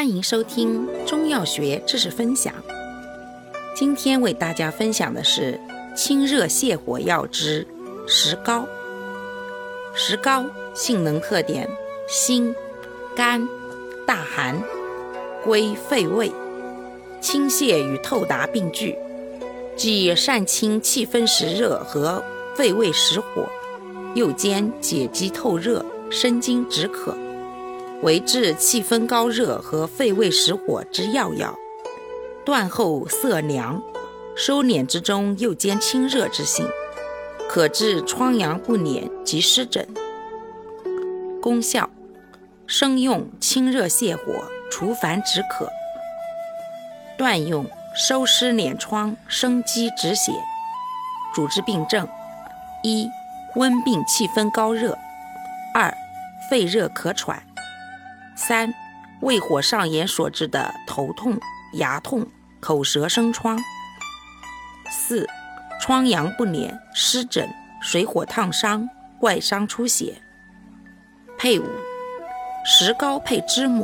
欢迎收听中药学知识分享。今天为大家分享的是清热泻火药之石膏。石膏性能特点：辛、甘、大寒，归肺胃，清泻与透达并具，既善清气分实热和肺胃实火，又兼解肌透热、生津止渴，为治气分高热和肺胃实火之要药。断后色凉，收敛之中又兼清热之性，可治疮疡不粘及湿疹。功效：生用清热泻火，除烦止渴；断用收湿敛疮，生肌止血。主治病症：一、温病气分高热；二、肺热咳喘；三、胃火上炎所致的头痛、牙痛、口舌生疮；四、疮疡不粘、湿疹、水火烫伤、外伤出血。配伍：石膏配知母。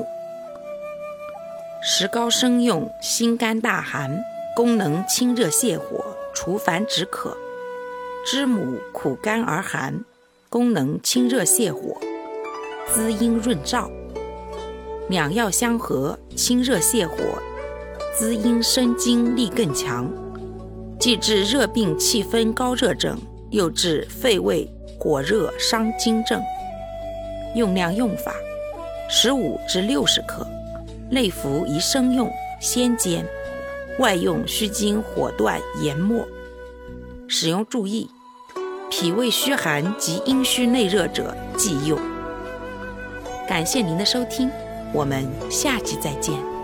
石膏生用辛甘大寒，功能清热泻火，除烦止渴；知母苦甘而寒，功能清热泻火，滋阴润燥。两药相合，清热泻火，滋阴生津力更强，既治热病气分高热症，又治肺胃火热伤津症。用量用法：15至60克，内服宜生用，先煎；外用须经火断研末。使用注意：脾胃虚寒及阴虚内热者忌用。感谢您的收听，我们下期再见。